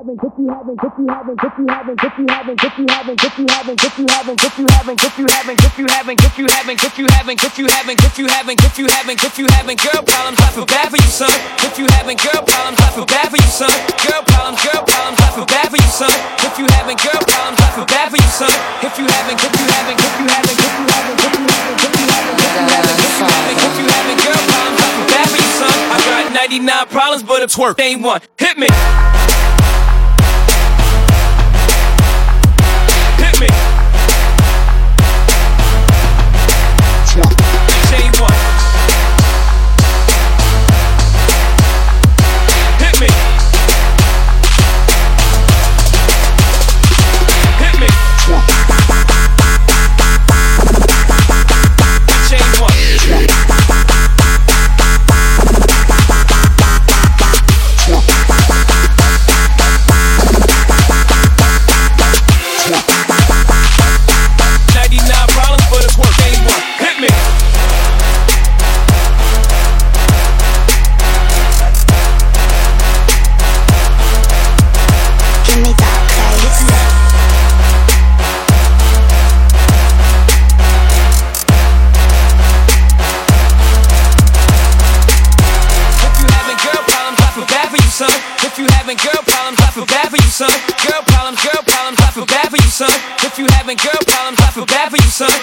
girl problems, I feel bad for you, son. If you having girl problems, I feel bad for you, son. Girl problems, I feel bad for you, son. If you having girl problems, I feel bad for you, son. If you having girl problems, I feel bad for you, son. I got 99 problems, but a twerk ain't one. Hit me. Hit me. Bitch ain't one. Hit me. Hit me. Bitch ain't one. 99 problems, but it's work ain't one. Hit me. Give me that bass. If you having girl problems, I feel bad for you, son. If you having girl problems, I feel bad for you, son. Girl problems, I feel bad for you, son. If you having girl problems, I feel bad for you, son.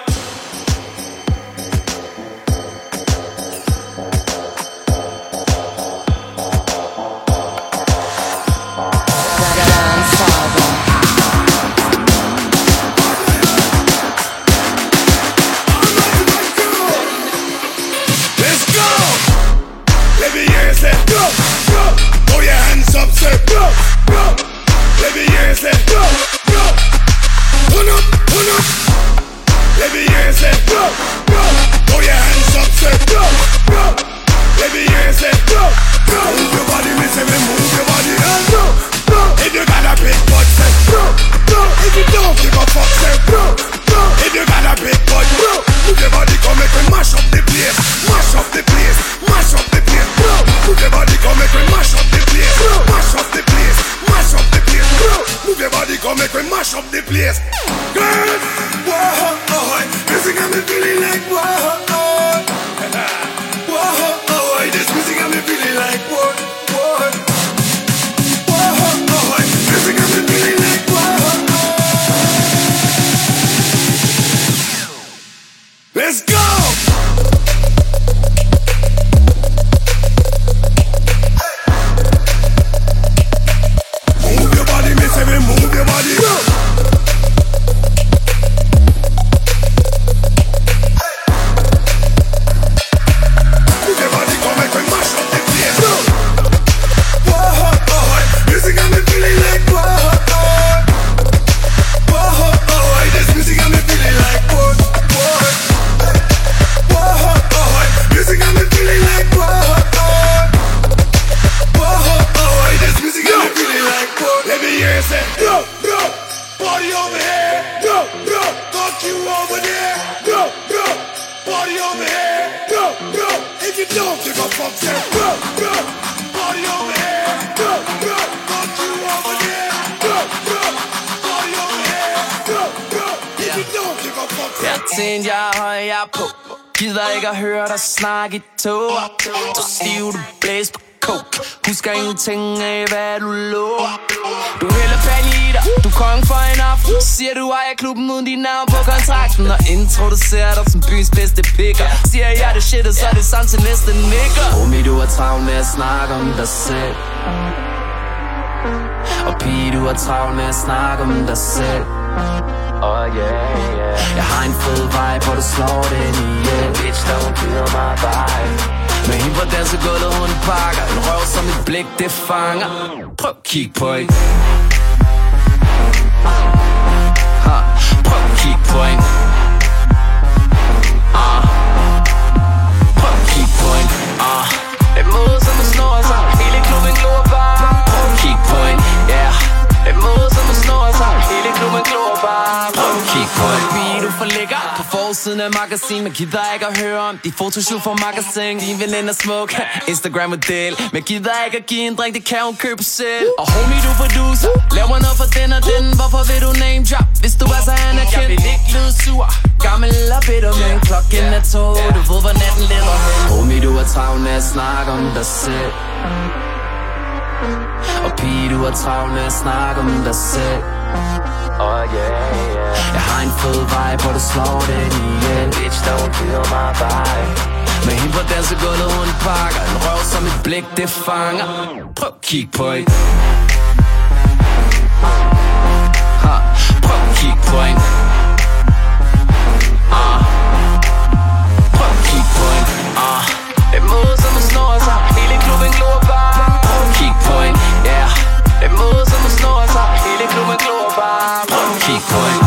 Let's go! Let me hear you say go, go. Throw your hands up, say go, go. Let me hear you say go, go. Turn up, turn up. Let me hear you say go, go. Throw your hands up, say go, go. Let me hear you say go, go. Move your body, me say me move your body and go, go. If you got a big butt, say go, go. If you don't give a fuck, say go, go. If you got a big butt, go. Move your body, come make me mash up the place, mash up the place, mash up the place, bro. Move your body, come make me mash up the place, mash up the place, mash up the place, bro. Move your body, come make me mash up the place. Girl, whoa, oh, music got me feeling like whoa, oh, whoa, oh, this music got me feeling like whoa, whoa, whoa, oh, music got me feeling like whoa, oh. Let's go! Move your body, me say me move your body. Go! Move your body, come make me mash up the place. Go! Whoa, oh, music got me feeling like whoa, oh, whoa, oh, this music got me feeling like whoa, whoa. Music got me feeling like whoa, whoa, this music got me feeling like whoa. Let me hear you say, bro, bro, party over here, bro, bro, fuck you over there, bro, bro, party over here, bro, bro. If you don't give a fuck, say, bro, bro, party over here, bro, bro, fuck you over there, bro, bro, party over here, bro, bro. If you don't give a fuck, say, Jeg tænkte, jeg højer på. Gider ikke at høre dig snakke i tog. Du stiv, du blæs på coke. Husker ingenting af, hvad du lover. Du hælder penge i dig, du er kongen for en aften. Siger du ejer klubben uden dit navn på kontrakten. Og introducerer dig som byens bedste picker. Siger jeg det shit, og så er det samt til næste nigger. Homie, du er travlt med at snakke om dig selv. Og pige, du er travlt med at snakke om dig selv. Oh yeah, yeah. Jeg har en fed vibe, hvor du slår den ihjel. Bitch, don't kill my vibe. Med hende på dansegulvet, hun pakker en røv som et blik, det fanger. Prøv at kigge på en. Prøv at kigge på en. Prøv at kigge på en. Et måde som at snor sig, hele klubben glor bare. Prøv at kigge på en, yeah. Et måde som at snor sig, hele klubben glor bare. Prøv at kigge på en. Pige, du for lækker, på forsiden af magasin, men gider ikke at høre om de fotoshoot for magasin. Din veninde er smuk, Instagram-model, men gider ikke at give en drink, det kan hun købe selv. Og homie, du producer, laver noget for den og den. Hvorfor vil du name drop, hvis du er så anerkendt? Jeg vil ikke lyde sur, gammel og bitter, men klokken er 2. Du ved, hvor natten leder hen. Homie, du er travlt med at snakke om dig selv. Og pige, du er travlt med at snakke om dig selv. Oh yeah. Jeg har en fed vibe, hvor du slår den ihjel. Bitch, don't kill my vibe. Med hende på dansegulvet, hun pakker en røv som et blik, det fanger. Prøv at kigge på en. Prøv at kigge på en. Prøv at kigge på en. Det er måde, som snor sig. Hele klubben glor bare. Prøv at kigge på en. Yeah. Det er måde, som snor sig. Hele klubben glor bare. Prøv at kigge på en.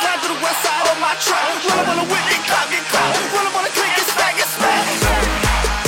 Run up on the whip, get caught, get caught. Run up on the click, get smack, get smack.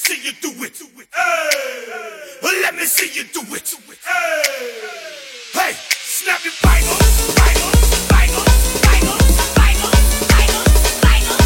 see you do it. Hey, let me see you do it. Hey, snap your fingers, fingers, fingers, fingers, fingers, fingers, fingers,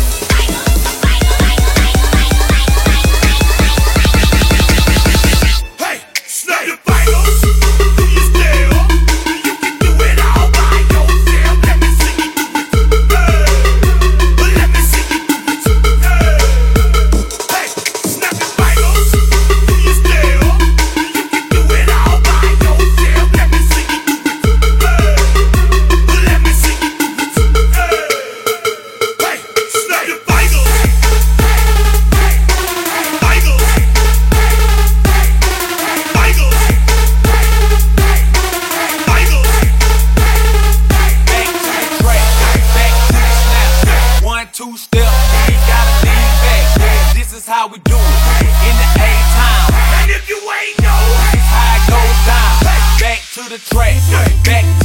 fingers. Hey, snap your fingers. Do you still? You can do it all by yourself. Let me see you do it. Hey, let me see you do it. Hey, snap your fingers. Do you still? You can do it all by yourself. Let me see you do it. Hey, let me see you do it. Hey, snap your fingers. Two step, you ain't gotta lean back. This is how we do it in the A-time. And if you ain't know, This how it goes down. Back to the track, back